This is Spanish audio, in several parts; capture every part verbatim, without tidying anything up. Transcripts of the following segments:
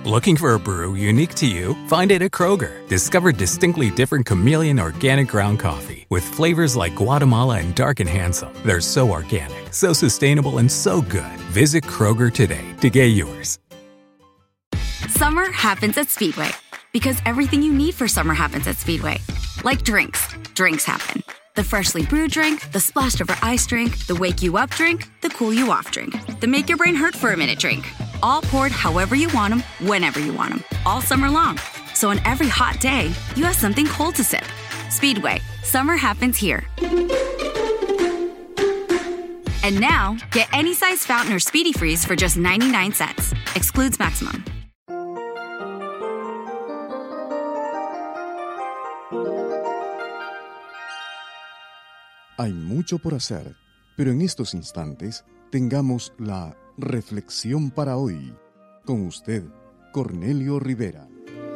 Looking for a brew unique to you? Find it at Kroger. Discover distinctly different Chameleon organic ground coffee with flavors like Guatemala and Dark and Handsome. They're so organic, so sustainable, and so good. Visit Kroger today to get yours. Summer happens at Speedway because everything you need for summer happens at Speedway. Like drinks. Drinks happen. The freshly brewed drink, the splashed over ice drink, the wake you up drink, the cool you off drink, the make your brain hurt for a minute drink. All poured however you want them, whenever you want them, all summer long. So on every hot day, you have something cold to sip. Speedway, summer happens here. And now, get any size fountain or Speedy Freeze for just ninety-nine cents. Excludes maximum. Hay mucho por hacer, pero en estos instantes tengamos la reflexión para hoy. Con usted, Cornelio Rivera.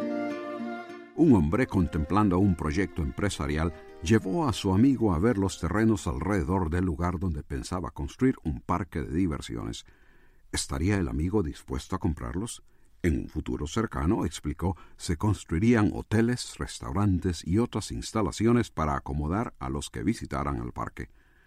Un hombre contemplando un proyecto empresarial llevó a su amigo a ver los terrenos alrededor del lugar donde pensaba construir un parque de diversiones. ¿Estaría el amigo dispuesto a comprarlos? En un futuro cercano, explicó, se construirían hoteles, restaurantes y otras instalaciones para acomodar a los que visitaran el parque.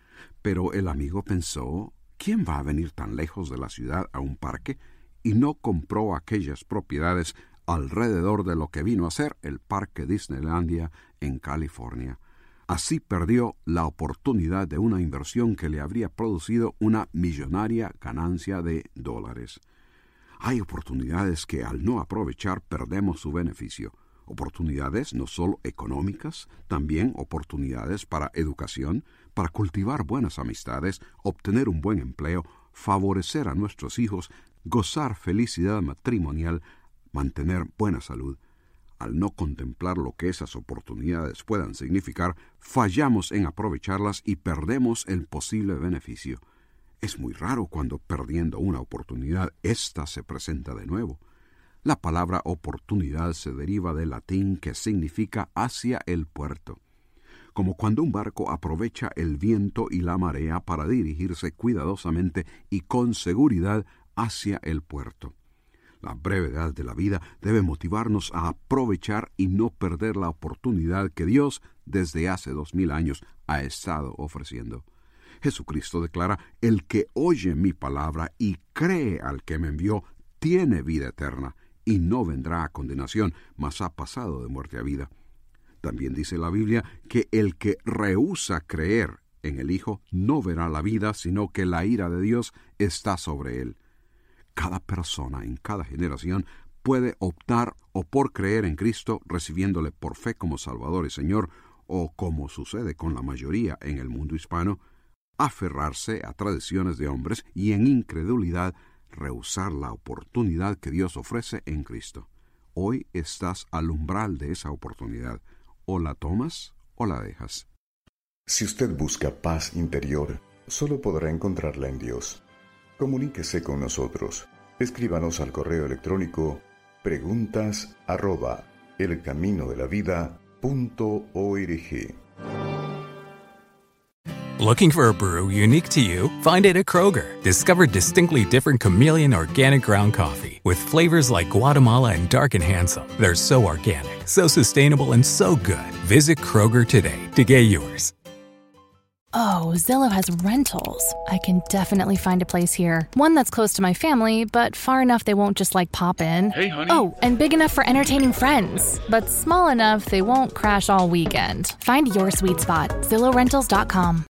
Pero el amigo pensó, ¿quién va a venir tan lejos de la ciudad a un parque? Y no compró aquellas propiedades alrededor de lo que vino a ser el Parque Disneylandia en California. Así perdió la oportunidad de una inversión que le habría producido una millonaria ganancia de dólares. Hay oportunidades que al no aprovechar perdemos su beneficio. Oportunidades no solo económicas, también oportunidades para educación, para cultivar buenas amistades, obtener un buen empleo, favorecer a nuestros hijos, gozar felicidad matrimonial, mantener buena salud. Al no contemplar lo que esas oportunidades puedan significar, fallamos en aprovecharlas y perdemos el posible beneficio. Es muy raro cuando, perdiendo una oportunidad, ésta se presenta de nuevo. La palabra oportunidad se deriva del latín que significa hacia el puerto. Como cuando un barco aprovecha el viento y la marea para dirigirse cuidadosamente y con seguridad hacia el puerto. La brevedad de la vida debe motivarnos a aprovechar y no perder la oportunidad que Dios, desde hace dos mil años, ha estado ofreciendo. Jesucristo declara, el que oye mi palabra y cree al que me envió, tiene vida eterna, y no vendrá a condenación, mas ha pasado de muerte a vida. También dice la Biblia que el que rehúsa creer en el Hijo no verá la vida, sino que la ira de Dios está sobre él. Cada persona en cada generación puede optar o por creer en Cristo, recibiéndole por fe como Salvador y Señor, o como sucede con la mayoría en el mundo hispano, aferrarse a tradiciones de hombres y en incredulidad rehusar la oportunidad que Dios ofrece en Cristo. Hoy estás al umbral de esa oportunidad. O la tomas o la dejas. Si usted busca paz interior, solo podrá encontrarla en Dios. Comuníquese con nosotros. Escríbanos al correo electrónico preguntas arroba elcaminodelavida.org. Looking for a brew unique to you? Find it at Kroger. Discover distinctly different Chameleon organic ground coffee with flavors like Guatemala and Dark and Handsome. They're so organic, so sustainable, and so good. Visit Kroger today to get yours. Oh, Zillow has rentals. I can definitely find a place here. One that's close to my family, but far enough they won't just like pop in. Hey, honey. Oh, and big enough for entertaining friends, but small enough they won't crash all weekend. Find your sweet spot, Zillow Rentals dot com.